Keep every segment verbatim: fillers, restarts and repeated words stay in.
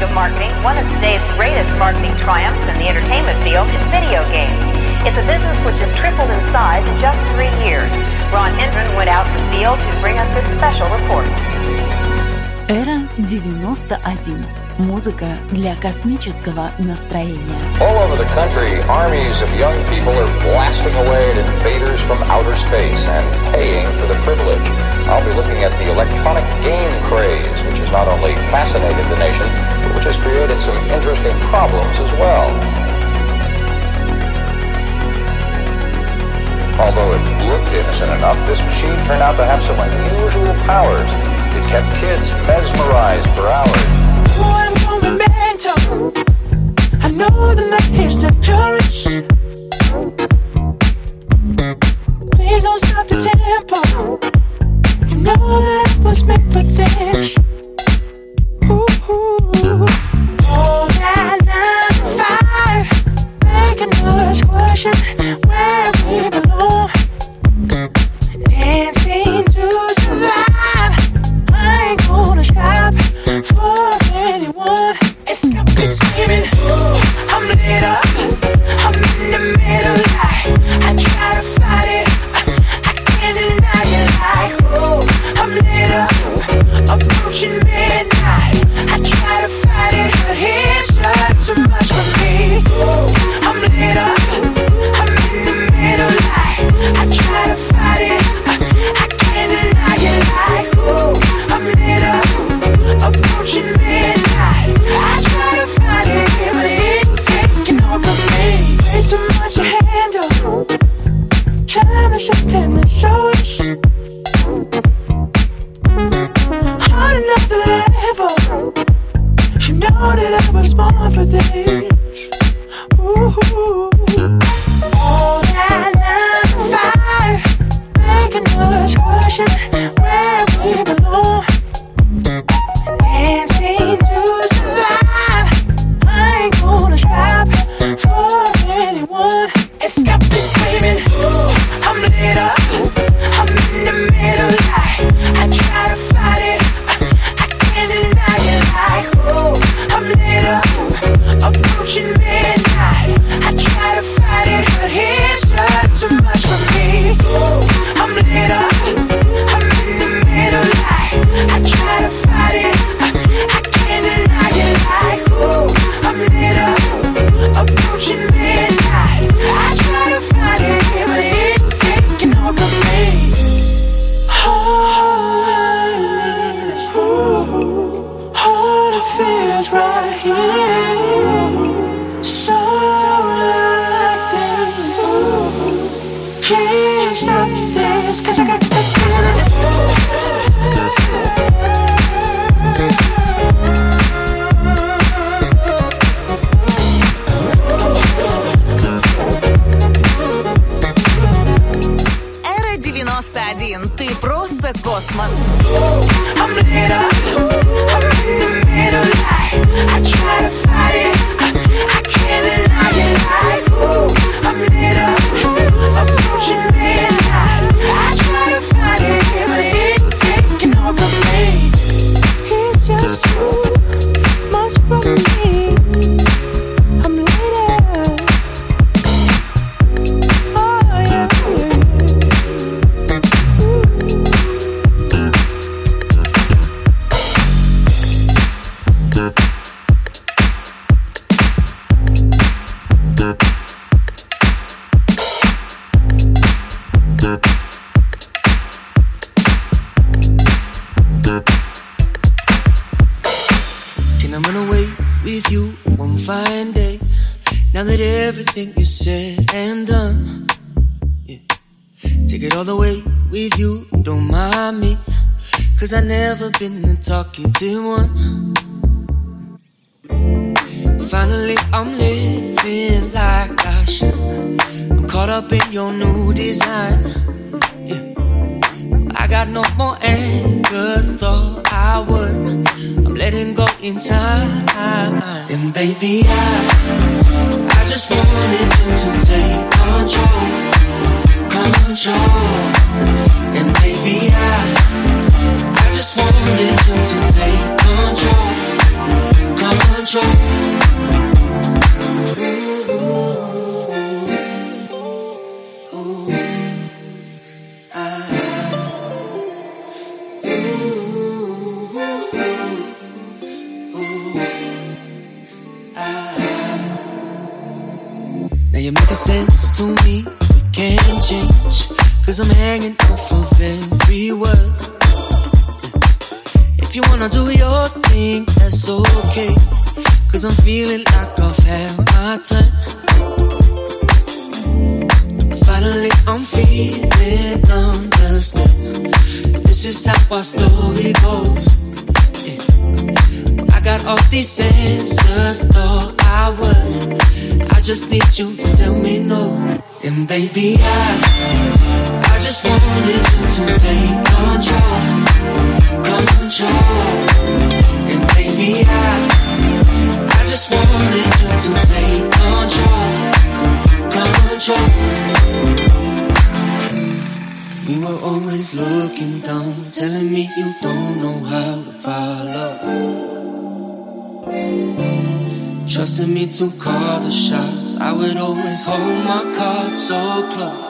of marketing, one of today's greatest marketing triumphs in the entertainment field is video games. It's a business which has tripled in size in just three years. Ron Hendren went out in the field to bring us this special report. Эра девяносто один. Музыка для космического настроения. All over the country, armies of young people are blasting away at invaders from outer space and paying for the privilege. I'll be looking at the electronic game craze, which has not only fascinated the nation, but which has created some interesting problems as well. Although it looked innocent enough, this machine turned out to have some unusual powers. It kept kids mesmerized for hours. Oh, I'm going mental. I know the night is dangerous. Please don't stop the tempo. You know that I was made for this. Ooh, ooh. All that nine to five, making us question where we belong. Dancing to survive. I ain't gonna stop for anyone. It's got me screaming. I'm lit up. I'm in the middle. I, I try to fight it. I, I can't deny it. Like, oh, I'm lit up. Approaching midnight. I try to fight it, but it's just too much for me. I'm lit up. I'm in the middle. I, I try to fight it. I, I can't deny it. Like, oh, I'm lit up. Approaching midnight. I try to fight it, but it's taking over me. Way too much to handle. Trying to something that shows. On another level. You know that I was born for this. Ooh. All that nine to five, making us question where we belong. Dancing to survive. I ain't gonna stop for anyone. It's got me screaming. I'm lit up. I'm in the middle. I, I try to fight it. I, I can't deny it. Like, oh, I'm lit up. Approaching midnight. I try to fight it, but it's just too much for me. I'm lit up. I'm in the middle. I, I try to fight it. I can't deny it. Like, oh, I'm lit up. Approaching midnight. I try to fight it, but it's taking over me. All I need is ooh, all it feels right here. So like that. Ooh, can't stop this, 'cause I got the feeling. Эра девяносто один. Ты просто космос. I'm lit up. I'm in the middle. I, I try to fight it. I, I can't deny it. Like, oh, I'm lit up. Approaching midnight. I try to fight it, but it's taking over me. It's just too much for me. I'm lit up. Oh, yeah. Can I run away with you one fine day? Now that everything is said and done, yeah. Take it all the way with you, don't mind me, 'cause I never been the talkative one. Finally I'm living like I should. I'm caught up in your new design, yeah. I got no more anger, thought I would. I'm letting go in time. And baby, I I just wanted you to take control, control. And baby, I I just wanted you to take control, control. sense to me, we can't change. Cause I'm hanging off of every word. If you wanna do your thing, that's okay. Cause I'm feeling like I've had my turn. Finally I'm feeling understood. This is how our story goes. Yeah. I got all these answers, thought I would. I just need you to tell me no. And baby, I I just wanted you to take control, control. And baby, I I just wanted you to take control, control. We were always looking down, telling me you don't know how to follow. Trusted me to call the shots. I would always hold my cards so close.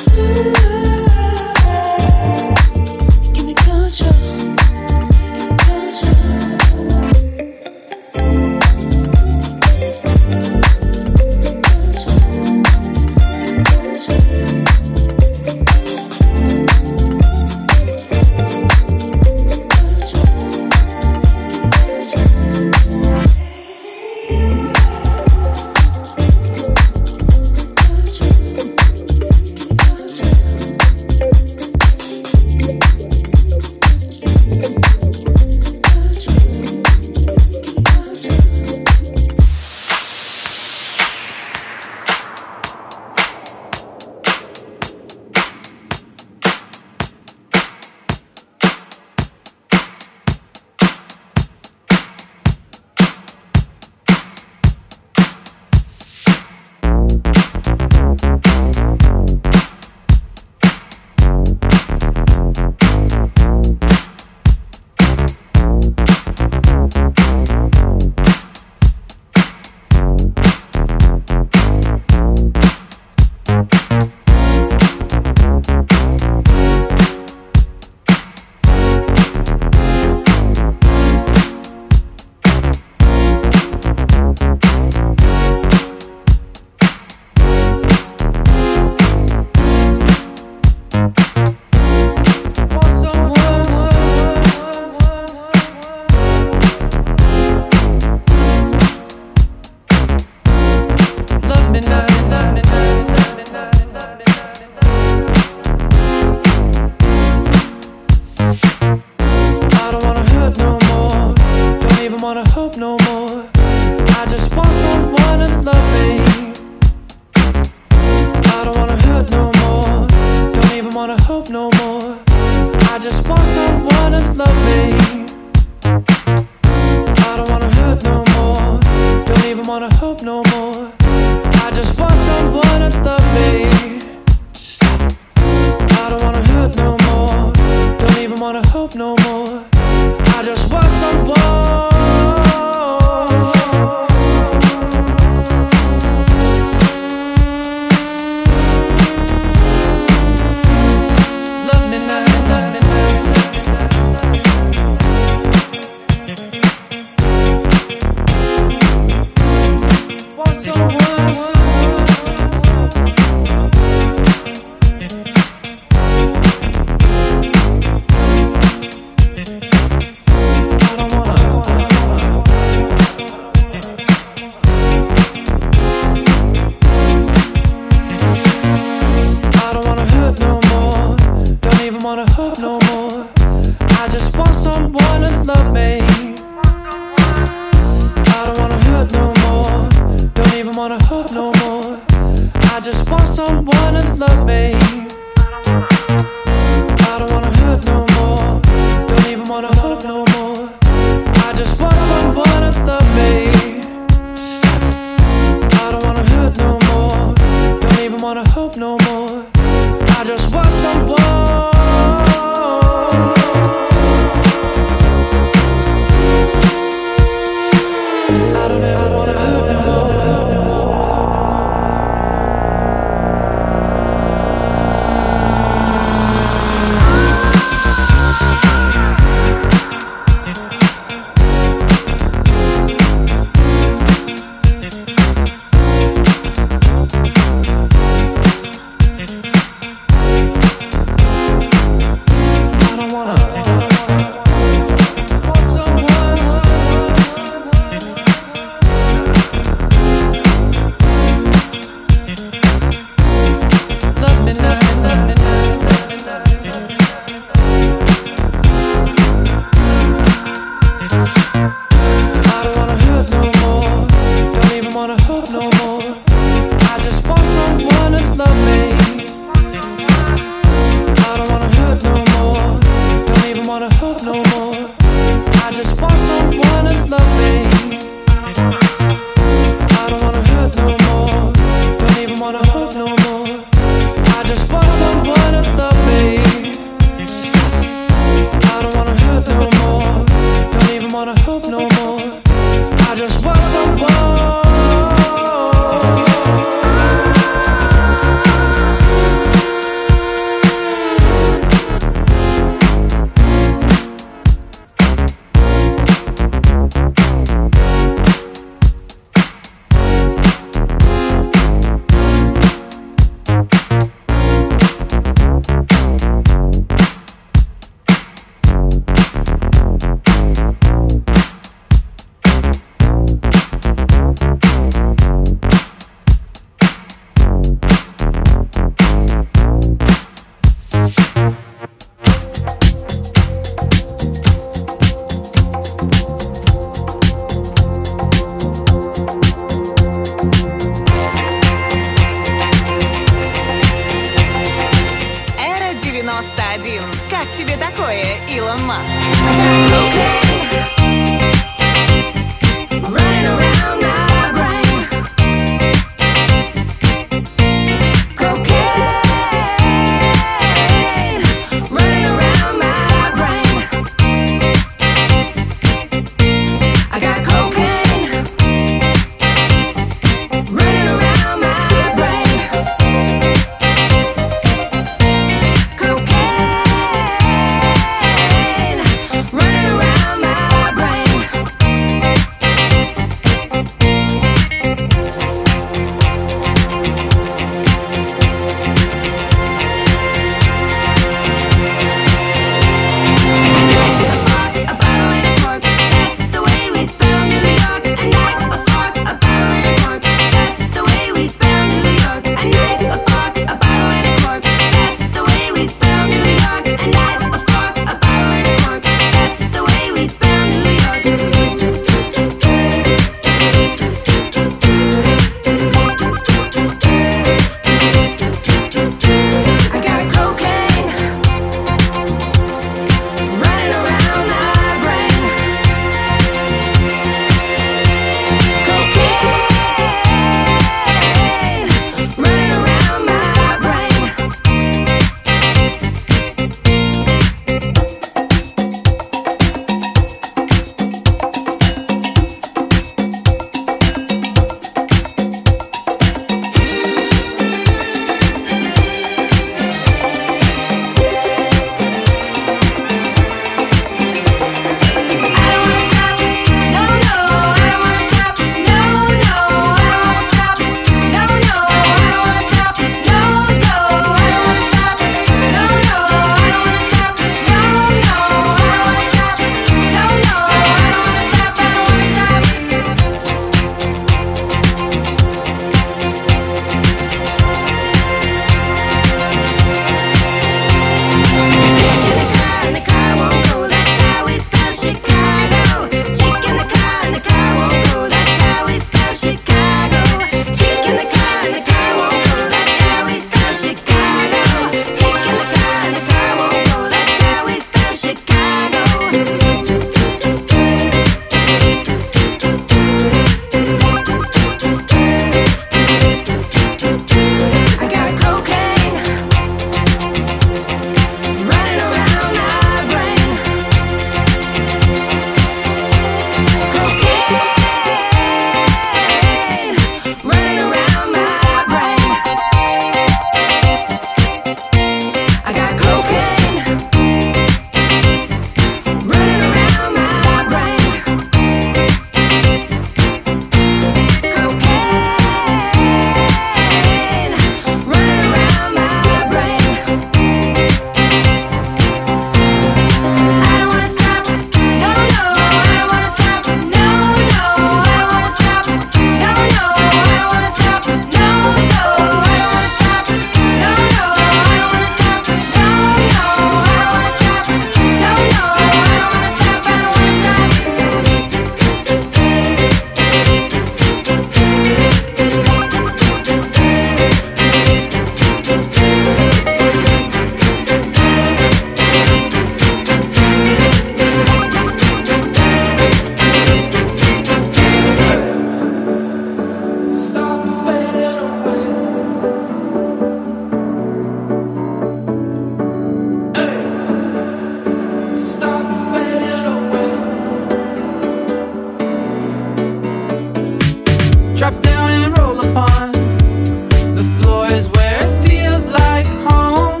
drop down and roll upon. The floor is where it feels like home.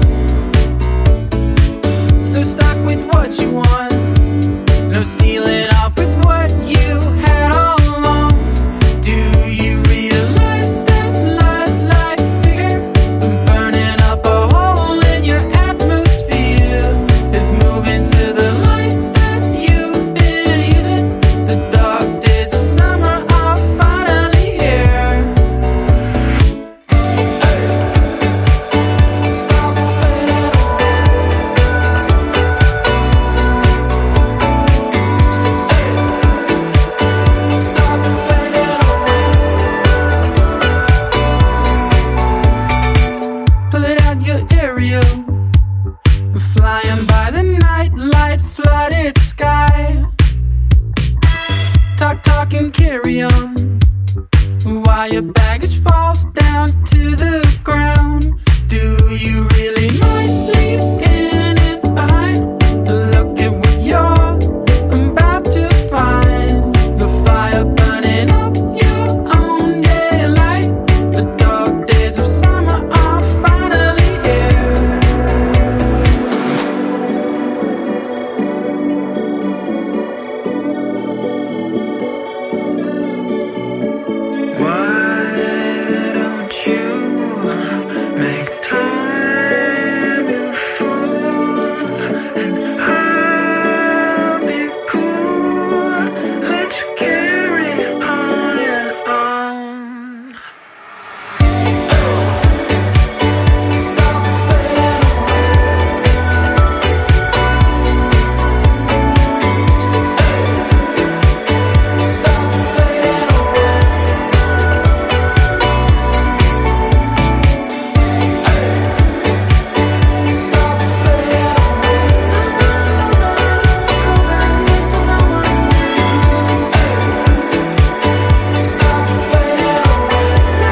So stuck with what you want, no stealing off with what you had all along. Do you realize that life like figure, burning up a hole in your atmosphere, is moving to the light that you've been using? The dark days of summer are finally here. Stop fading away. Stop fading away. Pull it out your aerial, flying by the night light flooded sky. Talk, talk and carry on, while your baggage falls down to the ground. Do you really mind leaving it behind? Look at what you're about to find. The fire burning up your own daylight. The dark days of summer are finally here. Why don't you make time, you fool? And I'll be cool. Let's carry on and on. Stop fading away. Stop fading away. Stop fading away. Stop fading away.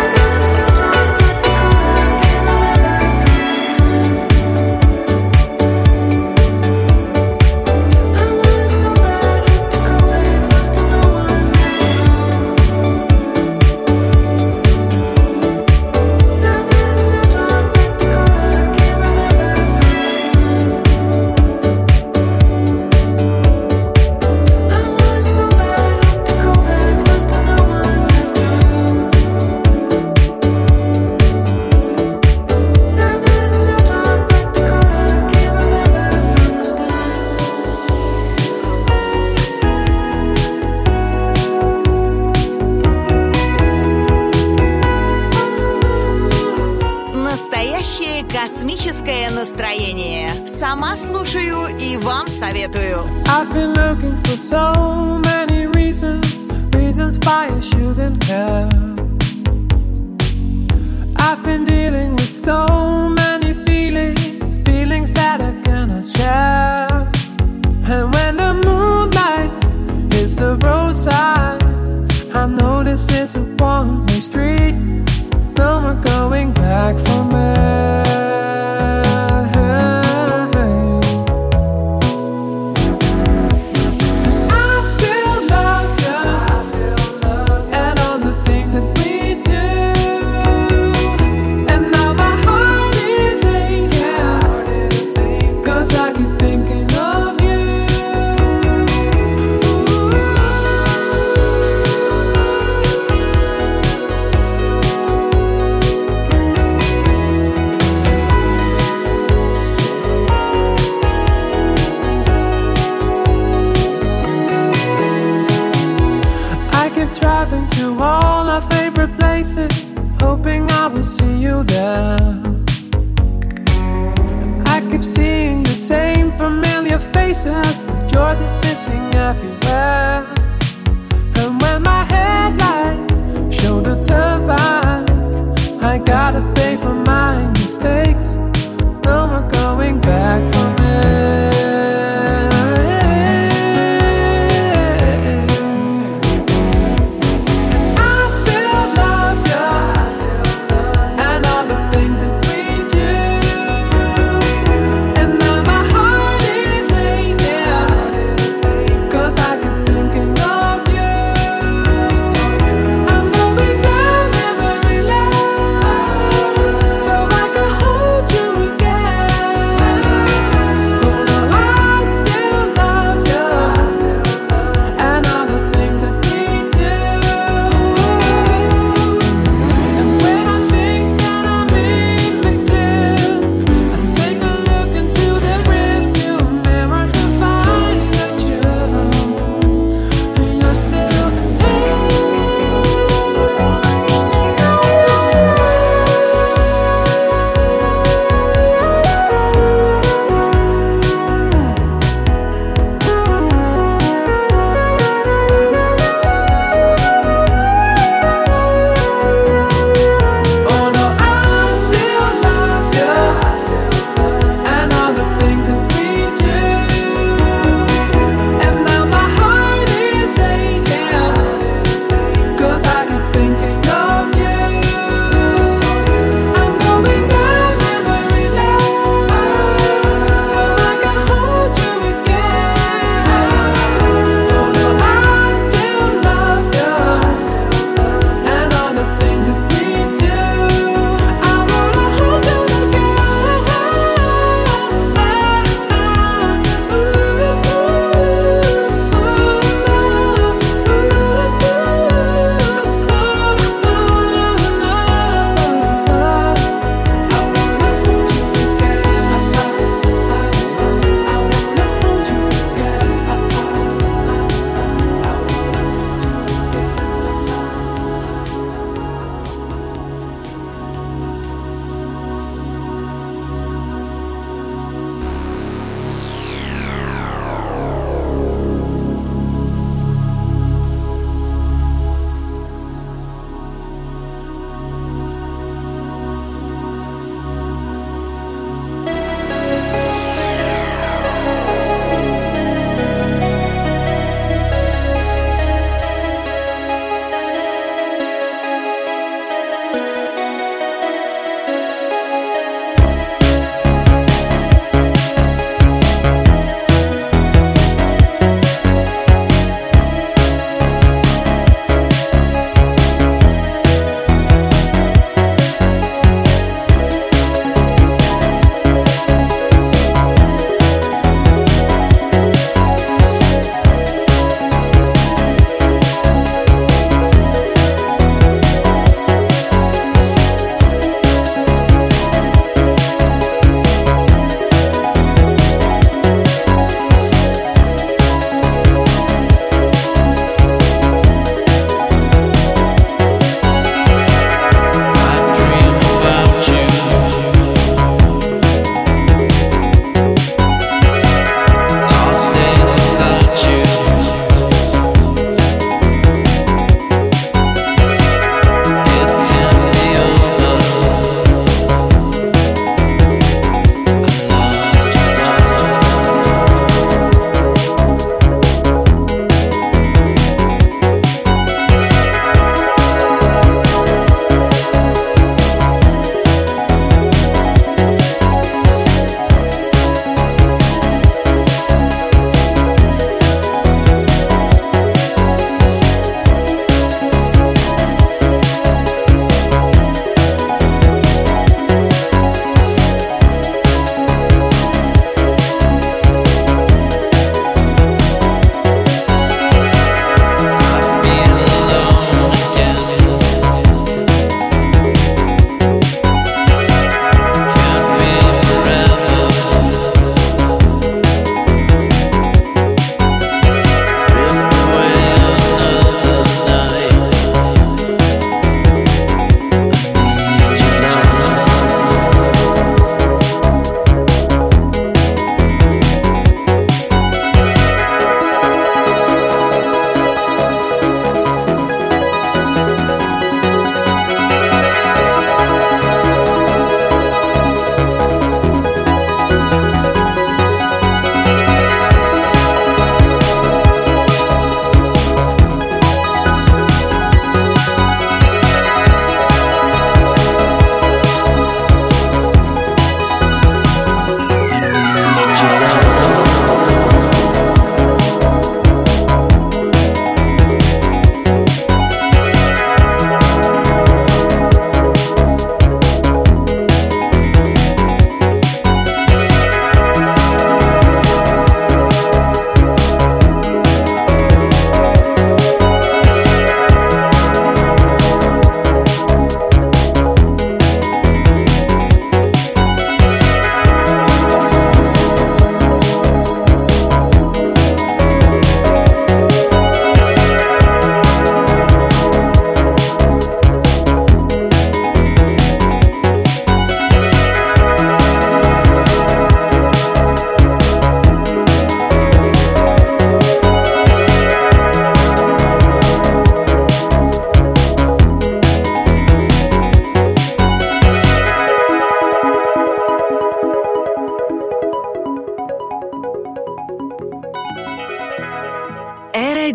Настоящее космическое настроение. Сама слушаю и вам советую. I've been looking for so many reasons, reasons why I shouldn't care. I've been dealing with so many feelings, feelings that I cannot share. And when the moonlight hits the roadside, I know this is a one-way street. No more going back for me. I still love you, and all the things that we do. And now my heart is aching, 'cause I keep thinking of you. I keep driving to all our favorite places, hoping I will see you there. I keep seeing the same familiar faces, but yours is missing everywhere. And when my headlights show the turbine, I gotta pay for my mistakes. No more going back for me. I still love you, and all the things that we do. And now my heart is aching, 'cause I keep thinking of you.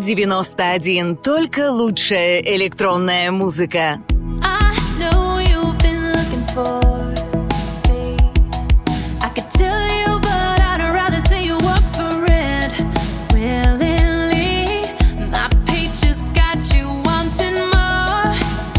девяносто один. Только лучшая электронная музыка. I know you've been looking for me. I could tell you, but I'd rather see you work for it willingly. My peaches got you wanting more.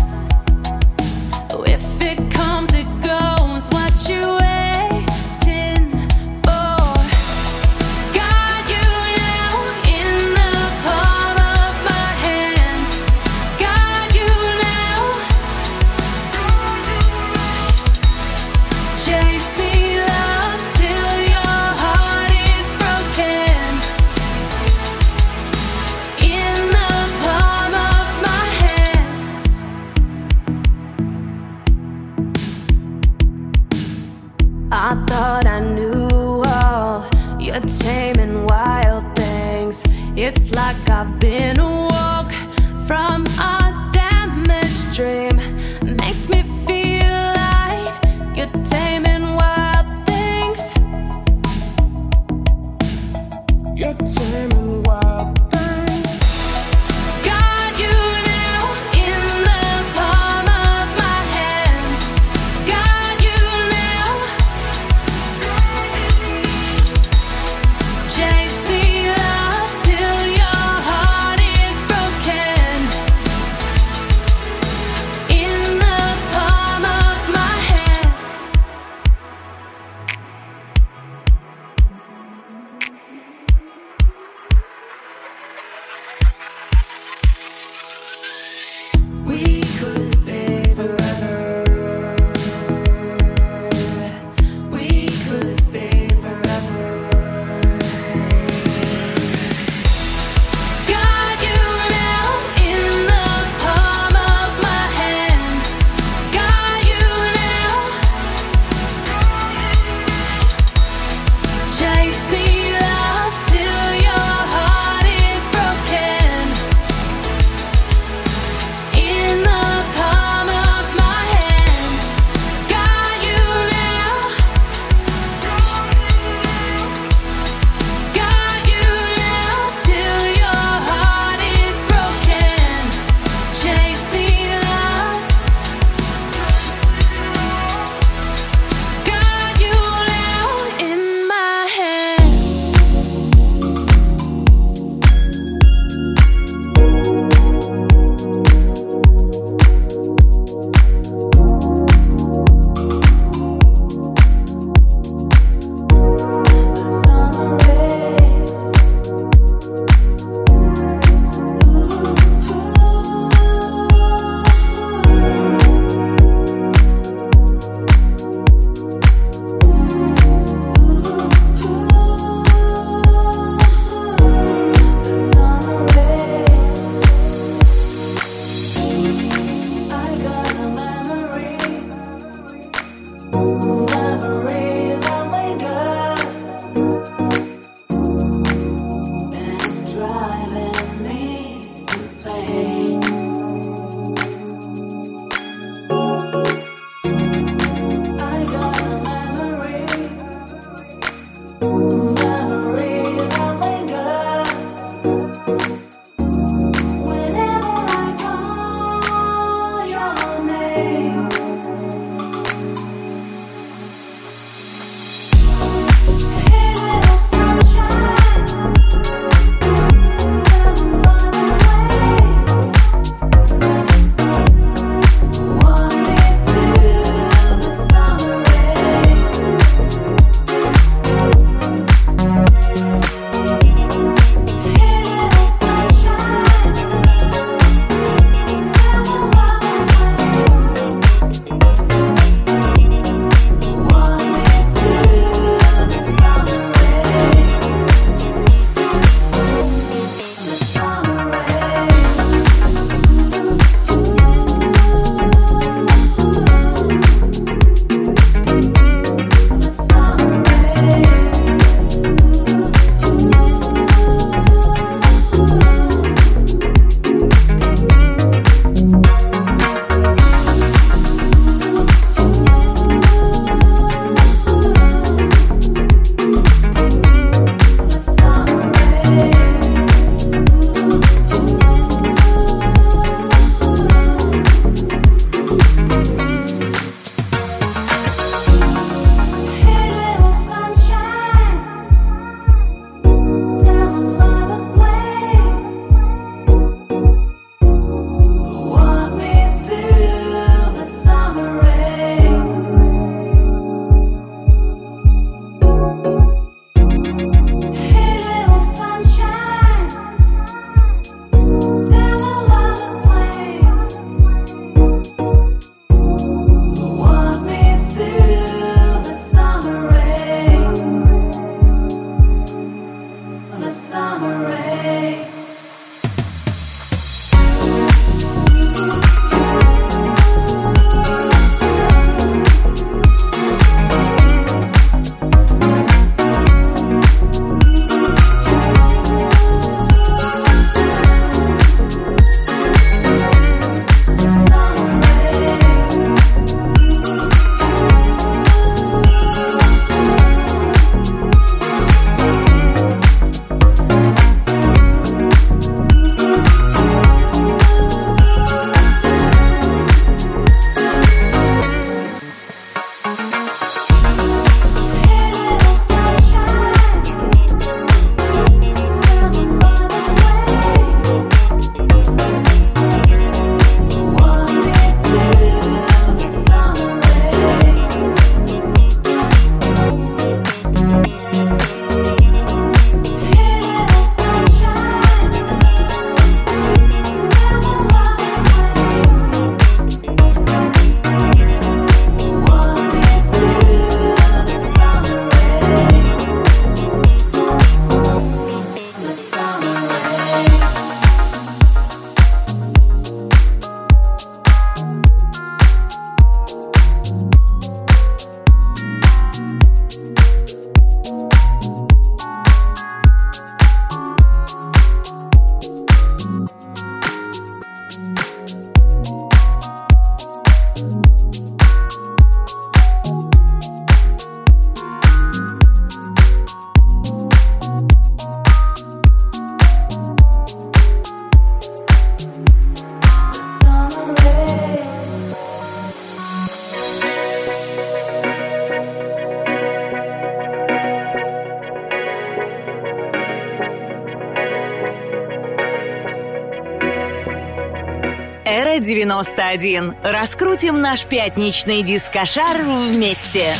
If it comes, it goes. What you waiting for? Got you now in the palm of my hands. Got you now. Премьера девяносто один. Раскрутим наш пятничный дискошар вместе.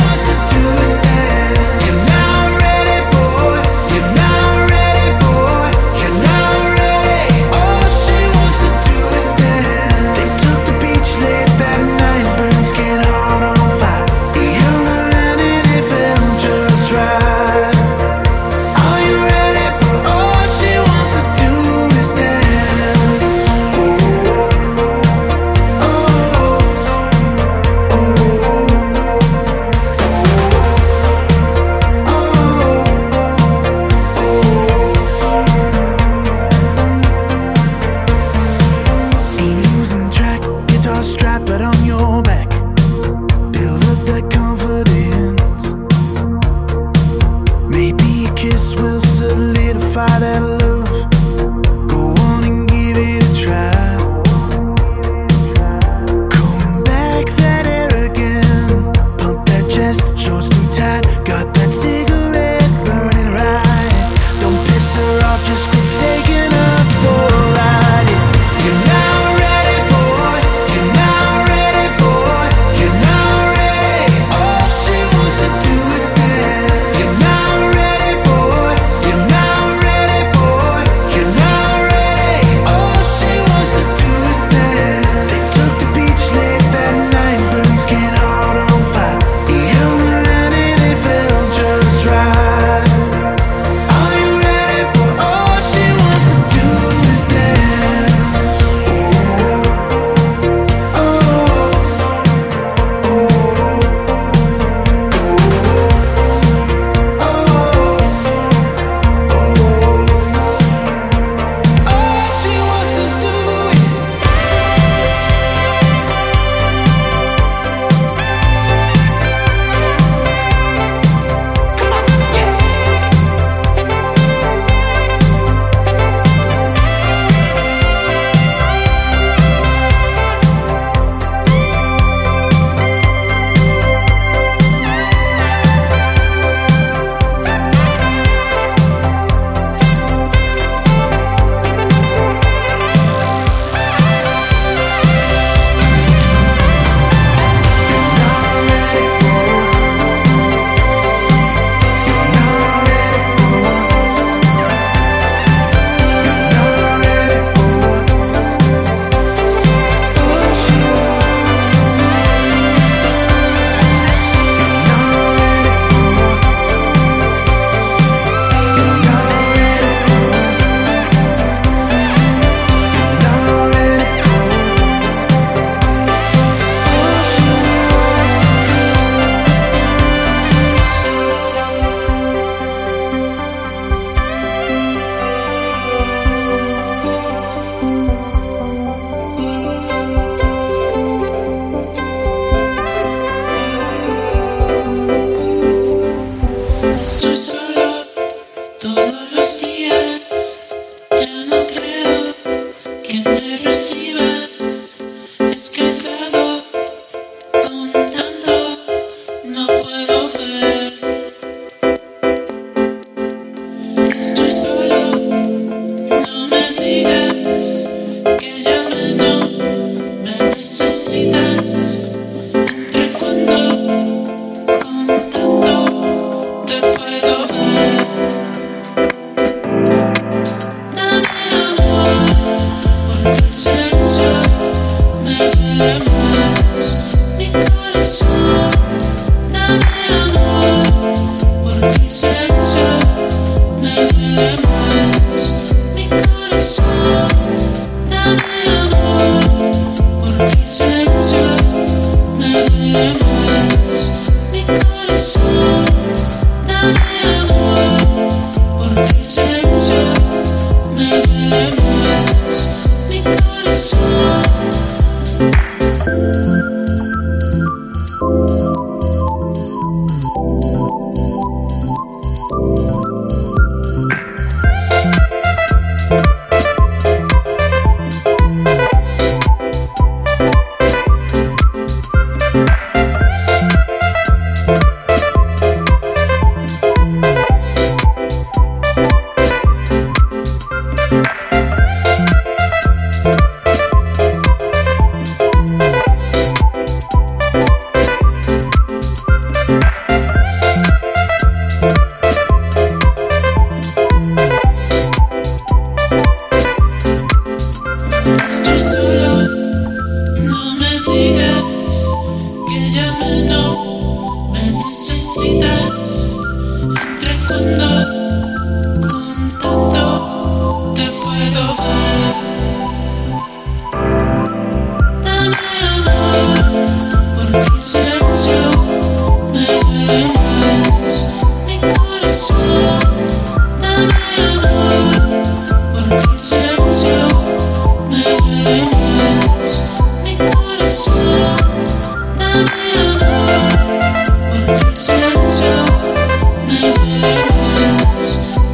Boy, Silencio, me duele más.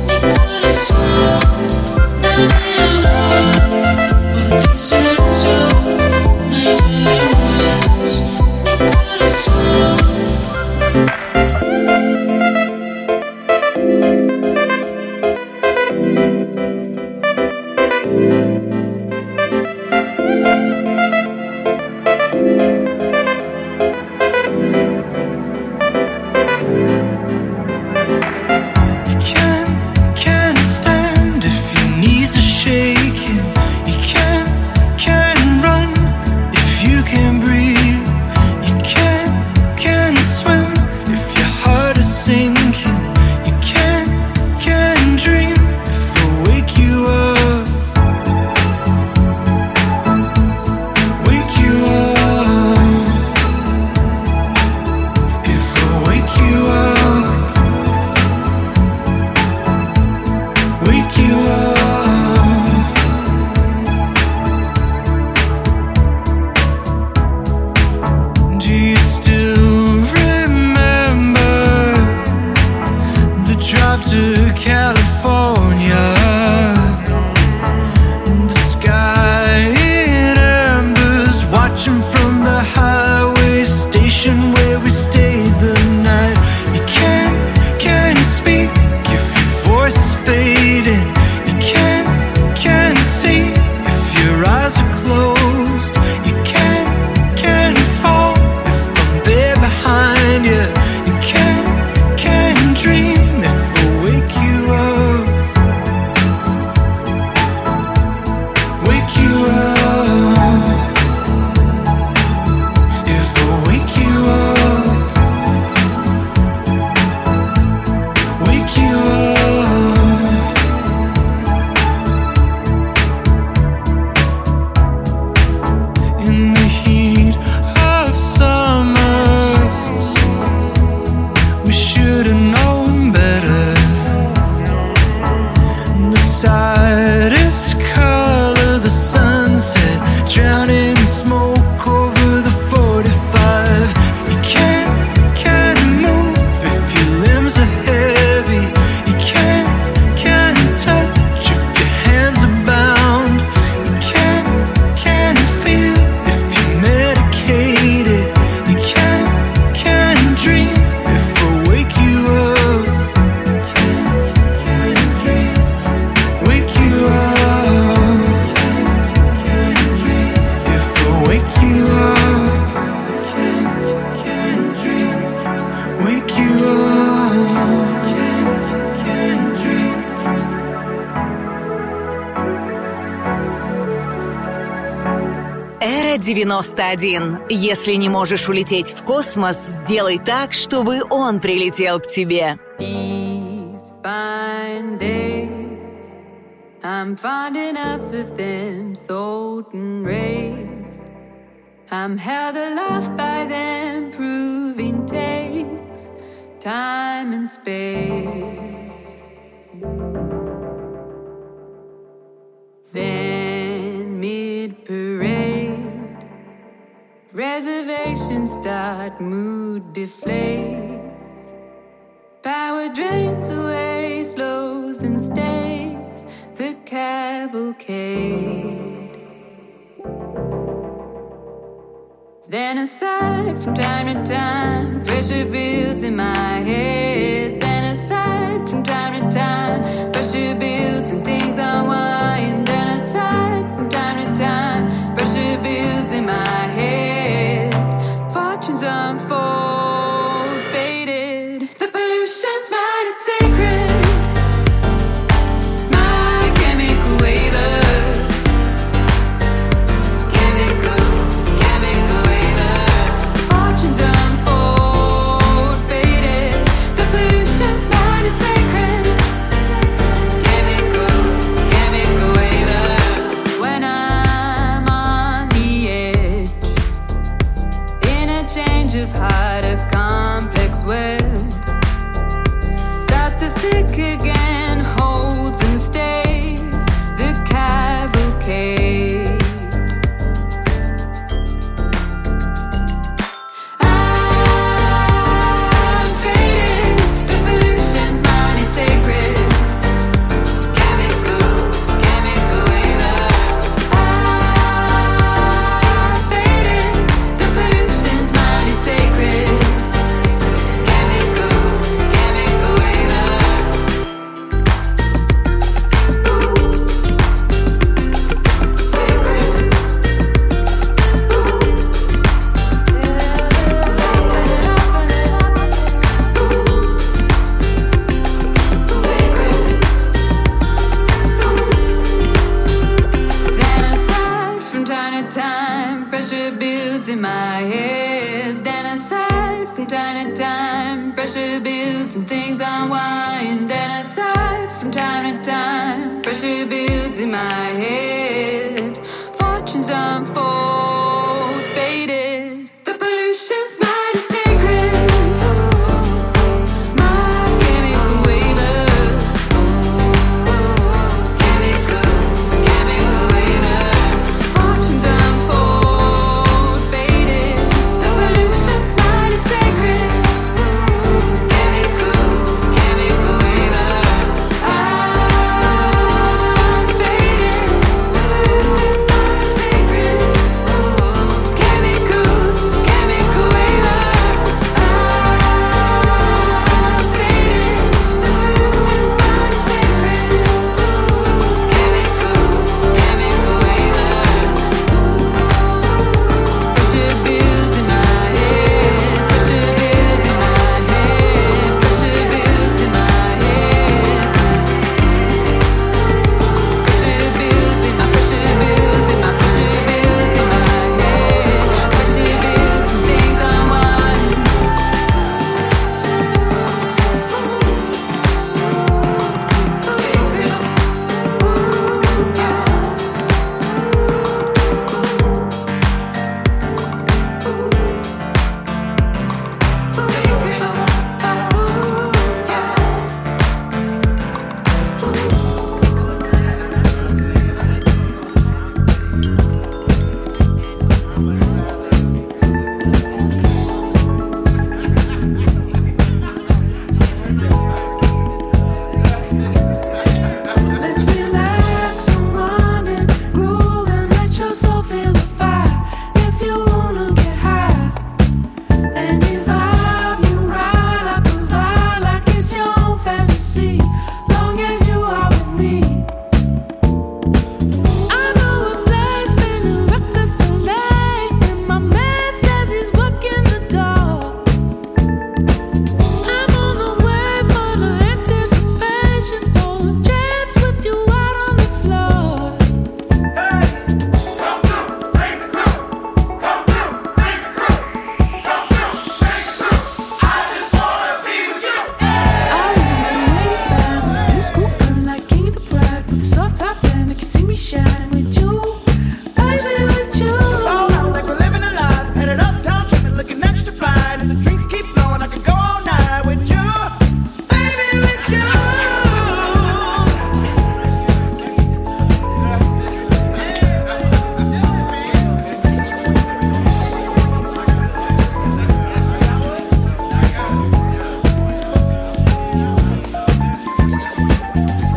девяносто один. Если не можешь улететь в космос, сделай так, чтобы он прилетел к тебе. These fine days, I'm finding enough of them sold and raised. I'm held aloft by them, proving takes time and space. Then mid-parade, reservations start, mood deflates. Power drains away, slows and stays the cavalcade. Then aside from time to time, pressure builds in my head. Then aside from time to time, pressure builds and things unwind. Then aside from time to time, pressure builds in my head. Fortunes unfold, faded. The pollution's mine, it's sacred. My chemical waiver. Chemical, chemical waiver. Fortunes unfold, faded. The pollution's mine, it's sacred. Chemical, chemical waiver. When I'm on the edge, in a change of heart, a complex web starts to stick again, holds and stays the cavalcade. I'm faded, the pollution's mine, it's sacred. Chemical, chemical waiver. I'm faded, the pollution's mine, it's sacred. Chemical, chemical waiver. Then aside from time to time, pressure builds in my head. Then aside from time to time, pressure builds and things unwind. Then aside from time to time, pressure builds in my head. Fortunes unfold, faded. The pollution's mine, it's sacred. My chemical waiver. Chemical, chemical waiver. Fortunes unfold, faded. The pollution's mine, it's sacred. Chemical, chemical waiver. I'm faded. The pollution's mine, it's sacred.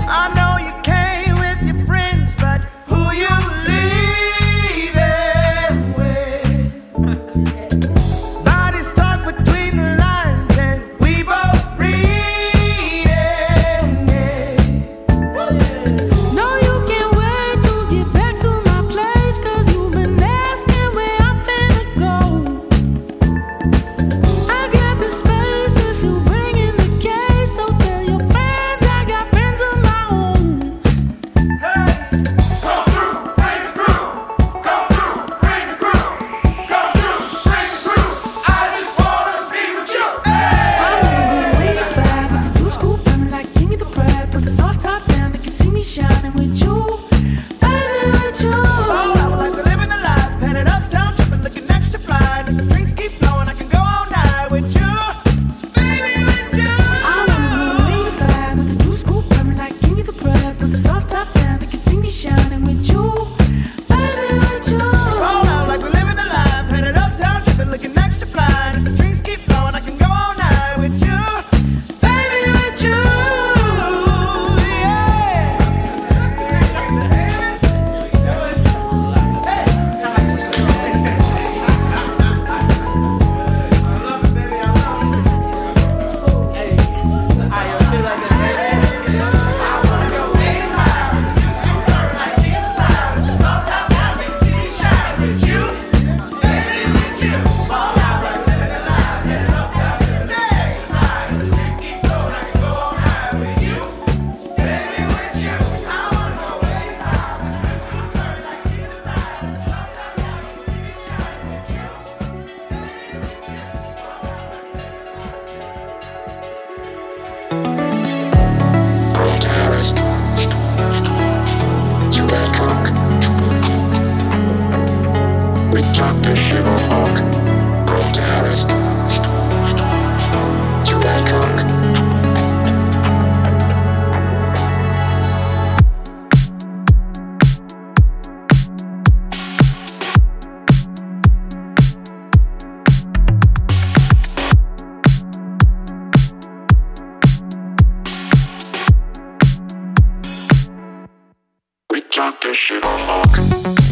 Got this shit on lock.